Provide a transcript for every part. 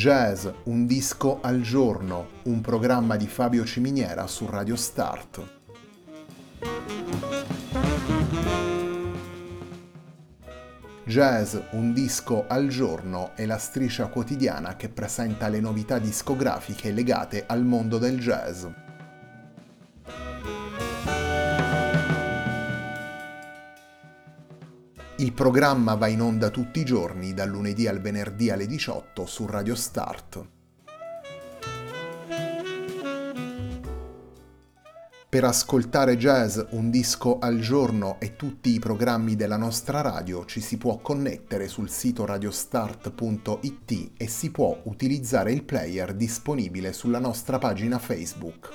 Jazz, un disco al giorno, un programma di Fabio Ciminiera su Radio Start. Jazz, un disco al giorno è la striscia quotidiana che presenta le novità discografiche legate al mondo del jazz. Il programma va in onda tutti i giorni, dal lunedì al venerdì alle 18 su Radio Start. Per ascoltare Jazz, un disco al giorno e tutti i programmi della nostra radio ci si può connettere sul sito radiostart.it e si può utilizzare il player disponibile sulla nostra pagina Facebook.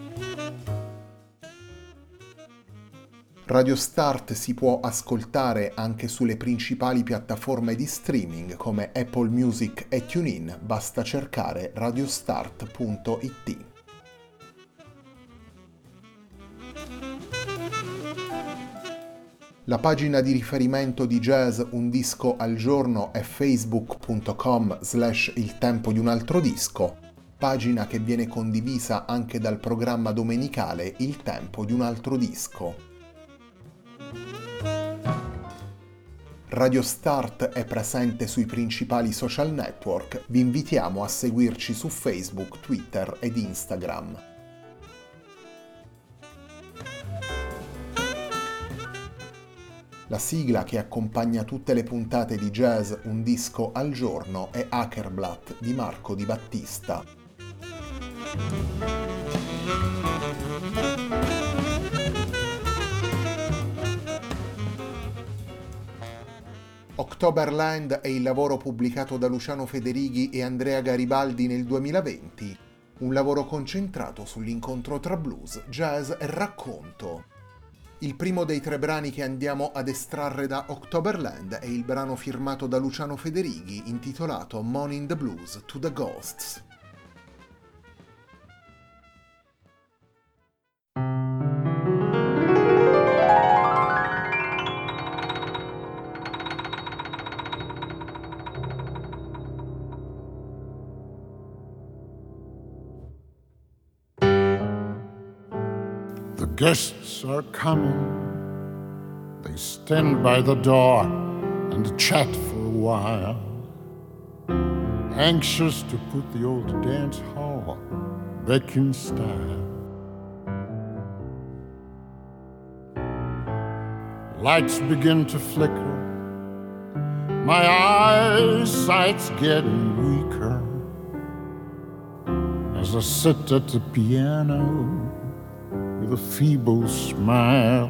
Radio Start si può ascoltare anche sulle principali piattaforme di streaming come Apple Music e TuneIn, basta cercare radiostart.it. La pagina di riferimento di Jazz Un Disco al Giorno è facebook.com/il tempo di un altro disco, pagina che viene condivisa anche dal programma domenicale Il tempo di un altro disco. Radio Start è presente sui principali social network, vi invitiamo a seguirci su Facebook, Twitter ed Instagram. La sigla che accompagna tutte le puntate di Jazz Un Disco al Giorno è Hackerblatt di Marco Di Battista. Octoberland è il lavoro pubblicato da Luciano Federighi e Andrea Garibaldi nel 2020, un lavoro concentrato sull'incontro tra blues, jazz e racconto. Il primo dei 3 brani che andiamo ad estrarre da Octoberland è il brano firmato da Luciano Federighi intitolato Money in the Blues to the Ghosts. The guests are coming. They stand by the door and chat for a while, anxious to put the old dance hall back in style. Lights begin to flicker. My eyesight's getting weaker as I sit at the piano with a feeble smile.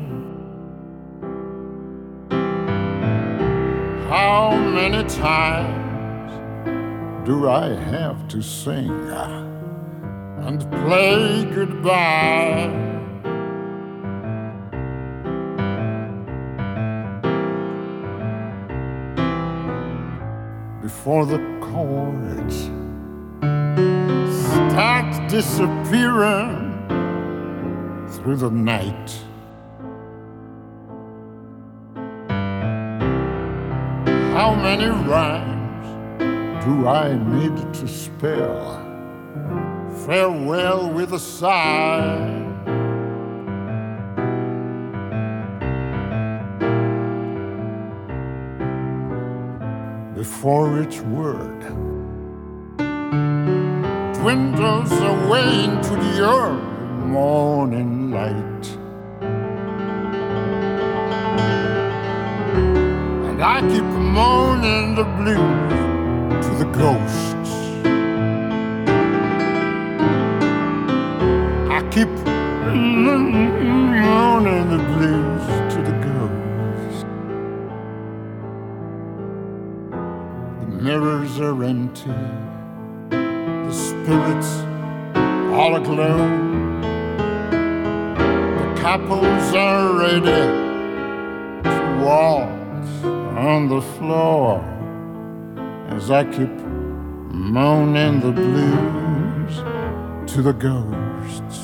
How many times do I have to sing and play goodbye? Before the chords start disappearing through the night. How many rhymes do I need to spell? Farewell with a sigh. Before each word dwindles away into the earth morning light, and I keep moaning the blues to the ghosts. I keep moaning the blues to the ghosts. The mirrors are empty, the spirits all aglow. Couples are ready to walk on the floor as I keep moaning the blues to the ghosts.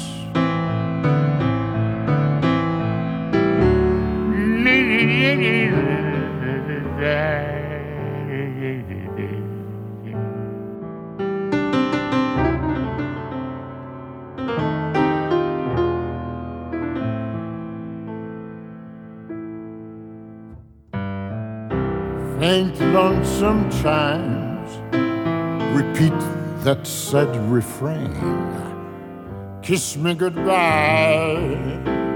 faint lonesome chimes repeat that sad refrain, kiss me goodbye.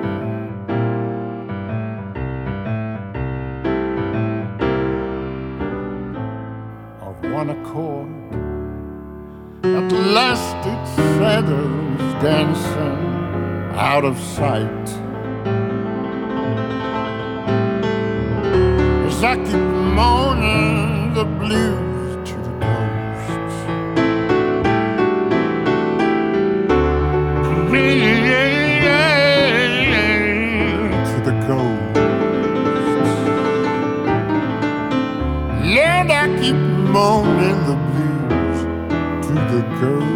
Of one accord, at last its shadows dancing out of sight. As I keep moaning the blues to the ghosts, to the ghosts. Lord, I keep moaning the blues to the ghosts.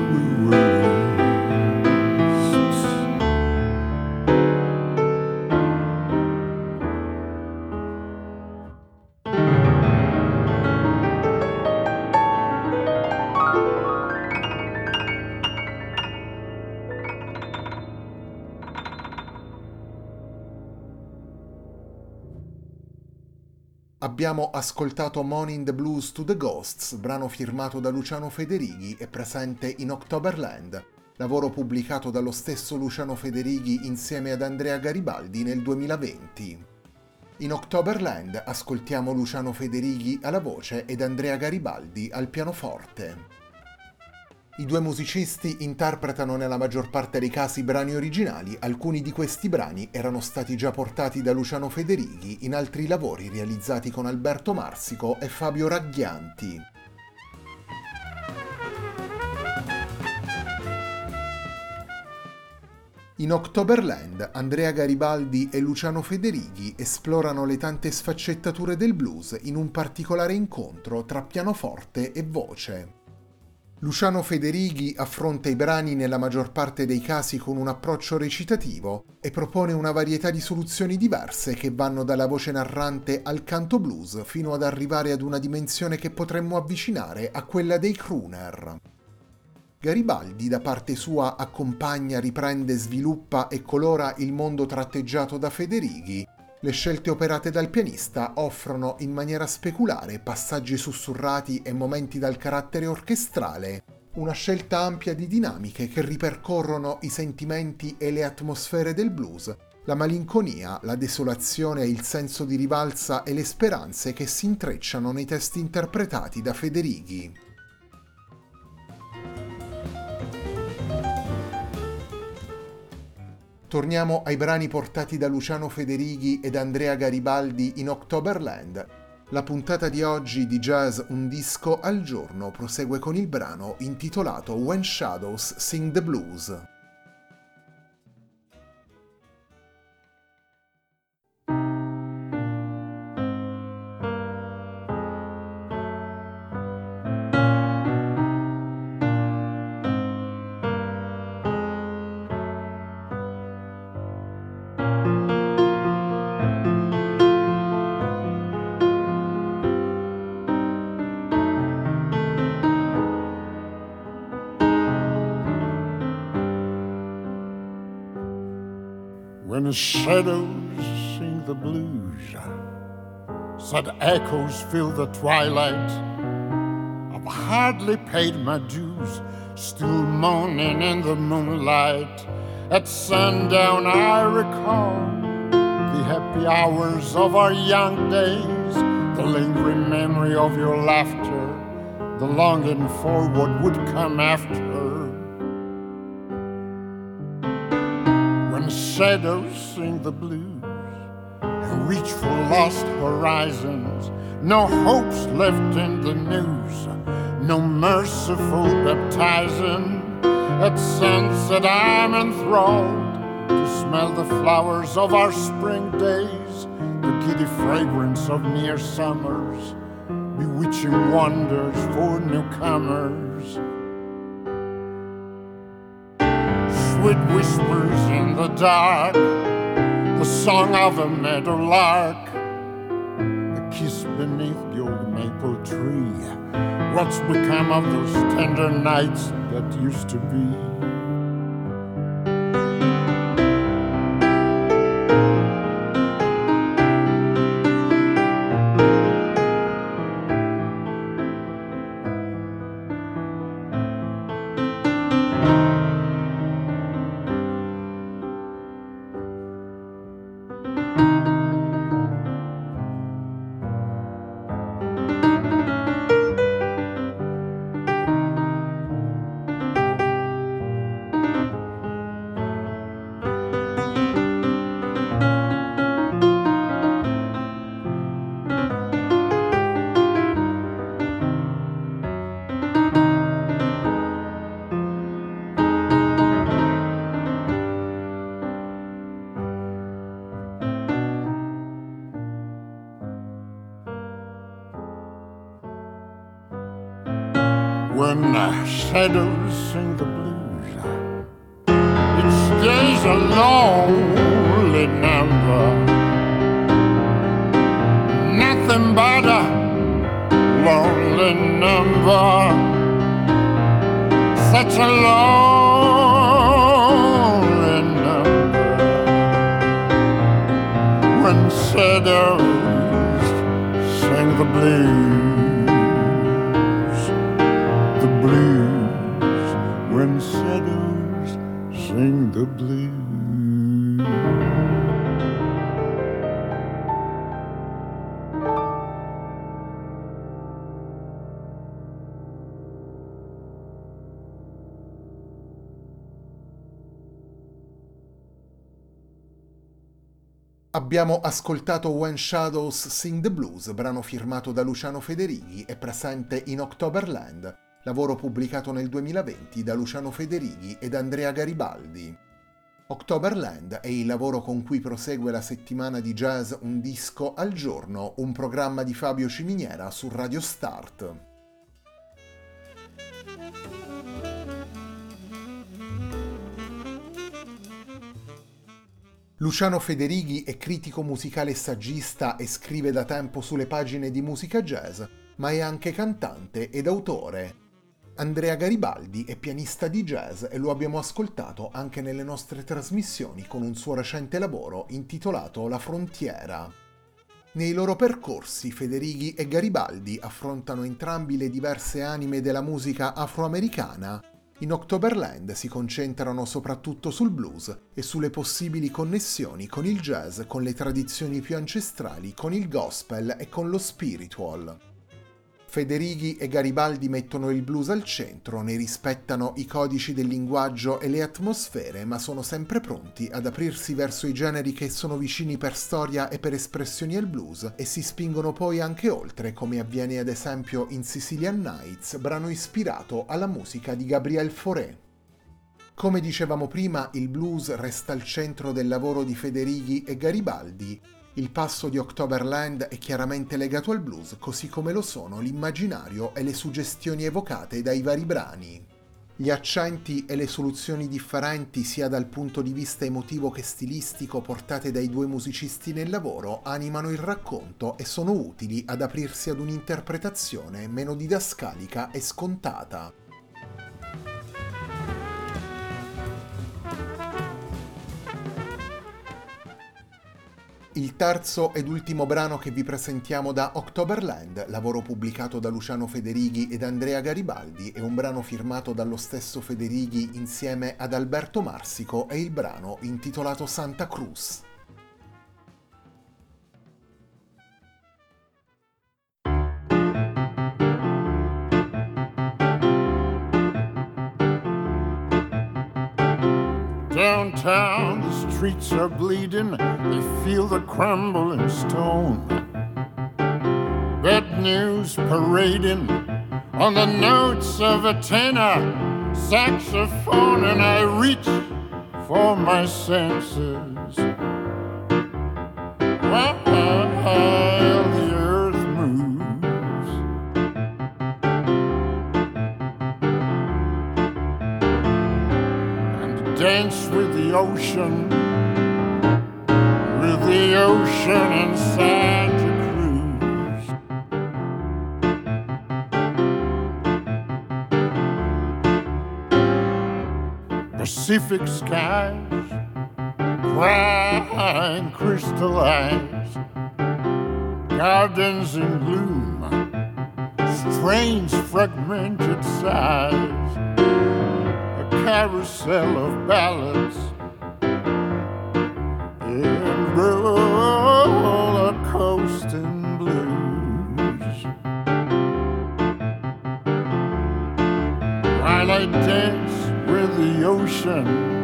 Abbiamo ascoltato Moaning the Blues to the Ghosts, brano firmato da Luciano Federighi e presente in Octoberland, lavoro pubblicato dallo stesso Luciano Federighi insieme ad Andrea Garibaldi nel 2020. In Octoberland ascoltiamo Luciano Federighi alla voce ed Andrea Garibaldi al pianoforte. I due musicisti interpretano nella maggior parte dei casi brani originali, alcuni di questi brani erano stati già portati da Luciano Federighi in altri lavori realizzati con Alberto Marsico e Fabio Ragghianti. In Octoberland, Andrea Garibaldi e Luciano Federighi esplorano le tante sfaccettature del blues in un particolare incontro tra pianoforte e voce. Luciano Federighi affronta i brani nella maggior parte dei casi con un approccio recitativo e propone una varietà di soluzioni diverse che vanno dalla voce narrante al canto blues fino ad arrivare ad una dimensione che potremmo avvicinare a quella dei crooner. Garibaldi, da parte sua, accompagna, riprende, sviluppa e colora il mondo tratteggiato da Federighi. Le scelte operate dal pianista offrono in maniera speculare passaggi sussurrati e momenti dal carattere orchestrale, una scelta ampia di dinamiche che ripercorrono i sentimenti e le atmosfere del blues, la malinconia, la desolazione, il senso di rivalsa e le speranze che si intrecciano nei testi interpretati da Federighi. Torniamo ai brani portati da Luciano Federighi ed Andrea Garibaldi in Octoberland. La puntata di oggi di Jazz Un disco al giorno prosegue con il brano intitolato When Shadows Sing the Blues. When the shadows sing the blues, sad echoes fill the twilight. I've hardly paid my dues, still moaning in the moonlight. At sundown I recall the happy hours of our young days, the lingering memory of your laughter, the longing for what would come after. Shadows sing the blues and reach for lost horizons. No hopes left in the news, no merciful baptizing. At sunset I'm enthralled to smell the flowers of our spring days, the giddy fragrance of near summers, bewitching wonders for newcomers. Sweet whispers in the dark, the song of a meadowlark, a kiss beneath the old maple tree. What's become of those tender nights that used to be? when shadows sing the blues. Each day's a lonely number, nothing but a lonely number, such a lonely number, when shadows sing the blues, the blues, when shadows sing the blues. Abbiamo ascoltato When Shadows Sing the Blues, brano firmato da Luciano Federighi e presente in Octoberland, lavoro pubblicato nel 2020 da Luciano Federighi ed Andrea Garibaldi. Octoberland è il lavoro con cui prosegue la settimana di jazz Un disco al giorno, un programma di Fabio Ciminiera su Radio Start. Luciano Federighi è critico musicale e saggista e scrive da tempo sulle pagine di musica jazz, ma è anche cantante ed autore. Andrea Garibaldi è pianista di jazz e lo abbiamo ascoltato anche nelle nostre trasmissioni con un suo recente lavoro intitolato La Frontiera. Nei loro percorsi Federighi e Garibaldi affrontano entrambi le diverse anime della musica afroamericana. In Octoberland si concentrano soprattutto sul blues e sulle possibili connessioni con il jazz, con le tradizioni più ancestrali, con il gospel e con lo spiritual. Federighi e Garibaldi mettono il blues al centro, ne rispettano i codici del linguaggio e le atmosfere, ma sono sempre pronti ad aprirsi verso i generi che sono vicini per storia e per espressioni al blues e si spingono poi anche oltre, come avviene ad esempio in Sicilian Nights, brano ispirato alla musica di Gabriel Fauré. Come dicevamo prima, il blues resta al centro del lavoro di Federighi e Garibaldi. Il passo di Octoberland è chiaramente legato al blues, così come lo sono l'immaginario e le suggestioni evocate dai vari brani. Gli accenti e le soluzioni differenti, sia dal punto di vista emotivo che stilistico, portate dai due musicisti nel lavoro, animano il racconto e sono utili ad aprirsi ad un'interpretazione meno didascalica e scontata. Il terzo ed ultimo brano che vi presentiamo da Octoberland, lavoro pubblicato da Luciano Federighi ed Andrea Garibaldi, è un brano firmato dallo stesso Federighi insieme ad Alberto Marsico e il brano intitolato Santa Cruz. Downtown, the streets are bleeding, they feel the crumbling stone. Bad news parading on the notes of a tenor saxophone, and I reach for my senses while the earth moves. And dance with the ocean in Santa Cruz. Pacific skies, crying crystallized, gardens in bloom, strange fragmented sighs, a carousel of ballads and roller coasting blues. While I dance with the ocean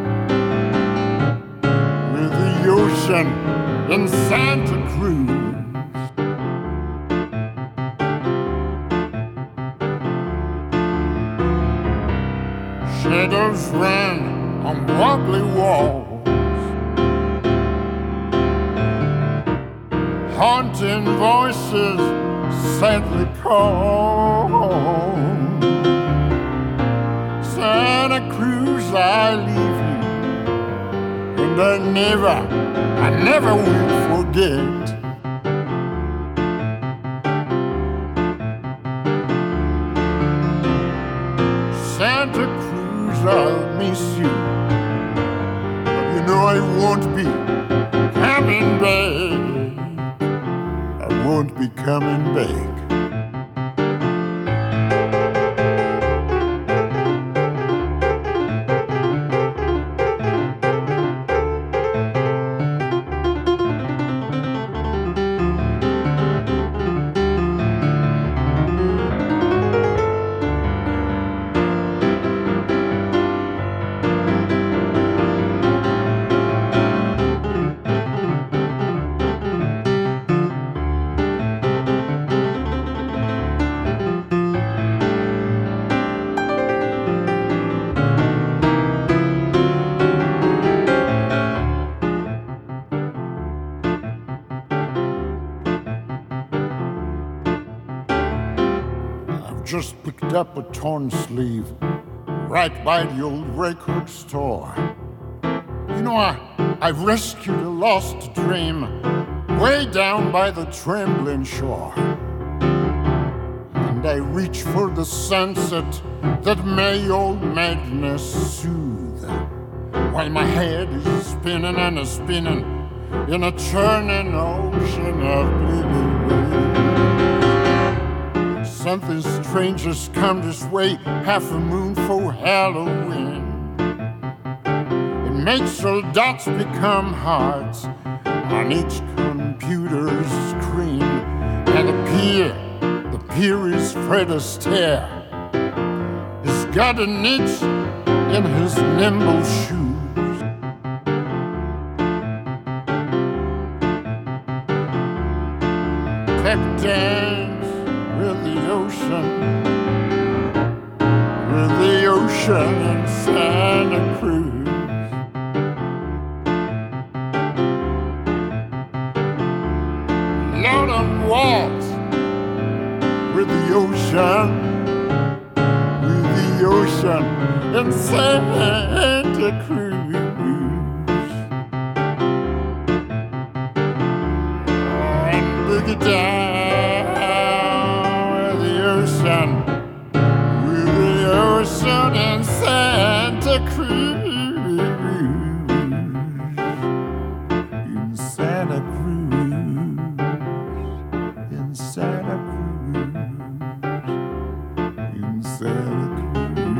in Santa Cruz. Shadows ran on wobbly walls, haunting voices sadly call. I leave you, and I never will forget. Santa Cruz, I'll miss you, but you know I won't be coming back. I won't be coming back. Just picked up a torn sleeve right by the old record store. You know, I've rescued a lost dream way down by the trembling shore. And I reach for the sunset that may old madness soothe, while my head is spinning and a spinning in a churning ocean of blue. Something strange has come this way, half a moon for Halloween. It makes all dots become hearts on each computer's screen. And the peer is Fred Astaire. He's got a niche in his nimble shoes. Pep dance with the ocean in Santa Cruz. Lord, I'm waltz with the ocean in Santa Cruz. And boogie down with the ocean in Santa Cruz, in Santa Cruz, in Santa Cruz, in Santa Cruz.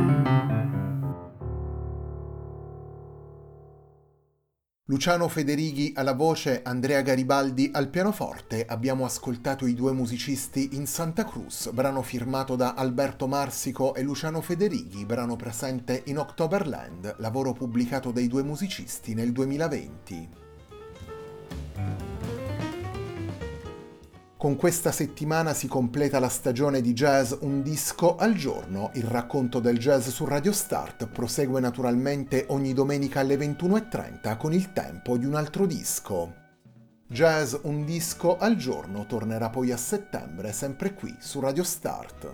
Luciano Federighi alla voce, Andrea Garibaldi al pianoforte. Abbiamo ascoltato I due musicisti in Santa Cruz, brano firmato da Alberto Marsico e Luciano Federighi, brano presente in Octoberland, lavoro pubblicato dai due musicisti nel 2020. Con questa settimana si completa la stagione di jazz Un disco al giorno. Il racconto del jazz su Radio Start prosegue naturalmente ogni domenica alle 21:30 con il tempo di un altro disco. Jazz Un disco al giorno tornerà poi a settembre, sempre qui su Radio Start.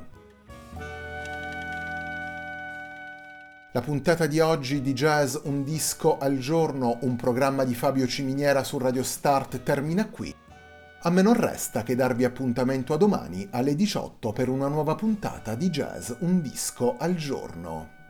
La puntata di oggi di Jazz Un disco al giorno, un programma di Fabio Ciminiera su Radio Start, termina qui. A me non resta che darvi appuntamento a domani alle 18 per una nuova puntata di Jazz Un disco al giorno.